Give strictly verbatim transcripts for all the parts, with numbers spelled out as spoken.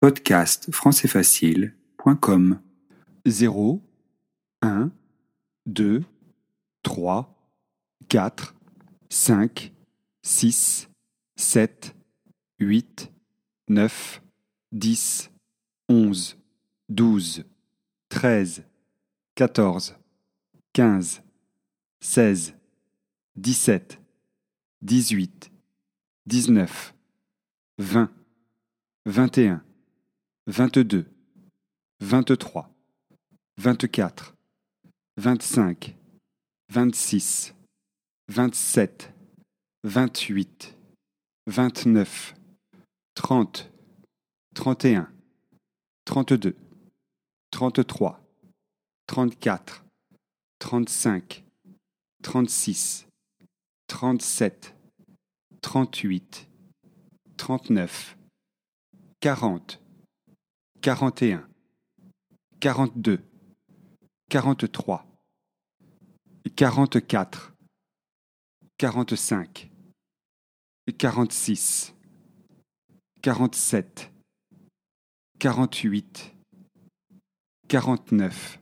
podcast français facile point com. zéro, un, deux, trois, quatre, cinq, six, sept, huit, neuf, dix, onze, douze, treize, quatorze, quinze, seize, dix-sept, dix-huit, dix-neuf, vingt, vingt et un, vingt-deux, vingt-trois, vingt-quatre, vingt-cinq, vingt-six, vingt-sept, vingt-huit, vingt-neuf, trente, trente et un, trente-deux, trente-trois, trente-quatre, trente-cinq, trente-six, trente-sept, trente-huit, trente-neuf, quarante, quarante et un, quarante-deux, quarante-trois, quarante-quatre, quarante-cinq, quarante-six, quarante-sept, quarante-huit, quarante-neuf,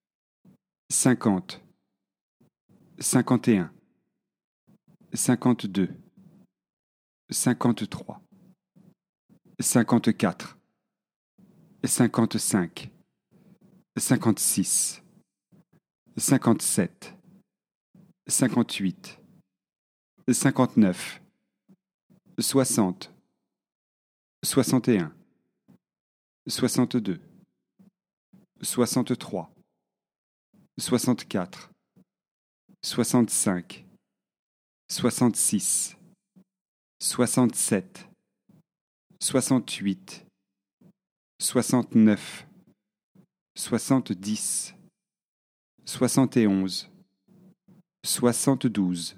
cinquante, cinquante et un, cinquante-deux, cinquante-trois, cinquante-quatre, cinquante-cinq, cinquante-six, cinquante-sept, cinquante-huit, cinquante-neuf, soixante, soixante et un, soixante-deux, soixante-trois, soixante-quatre, soixante-cinq, soixante-six, soixante-sept, soixante-huit, soixante-neuf, soixante-dix, soixante et onze, soixante-douze,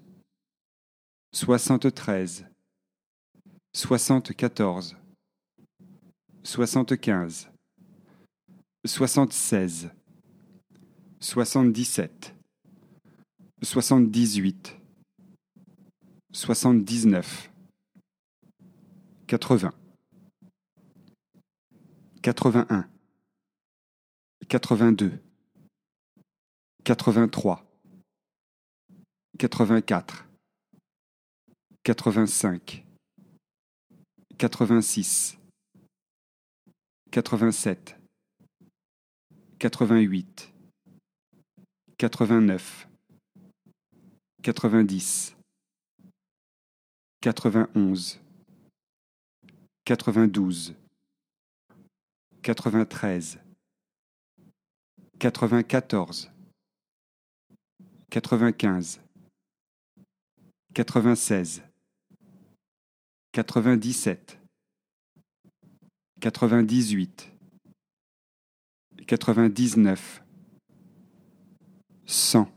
soixante-treize, soixante-quatorze, soixante-quinze, soixante-seize, soixante-dix-sept, soixante-dix-huit, soixante-dix-neuf, quatre-vingts, quatre-vingt-un, quatre-vingt-deux, quatre-vingt-trois, quatre-vingt-quatre, quatre-vingt-cinq, quatre-vingt-six, quatre-vingt-sept, quatre-vingt-huit, quatre-vingt-neuf, quatre-vingt-dix, quatre-vingt-onze, quatre-vingt-douze, quatre-vingt-treize, quatre-vingt-quatorze, quatre-vingt-quinze, quatre-vingt-seize, quatre-vingt-dix-sept, quatre-vingt-dix-huit, quatre-vingt-dix-neuf, cent.